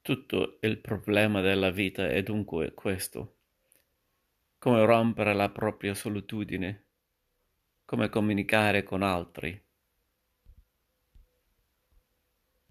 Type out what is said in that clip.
Tutto il problema della vita è dunque questo: come rompere la propria solitudine, come comunicare con altri.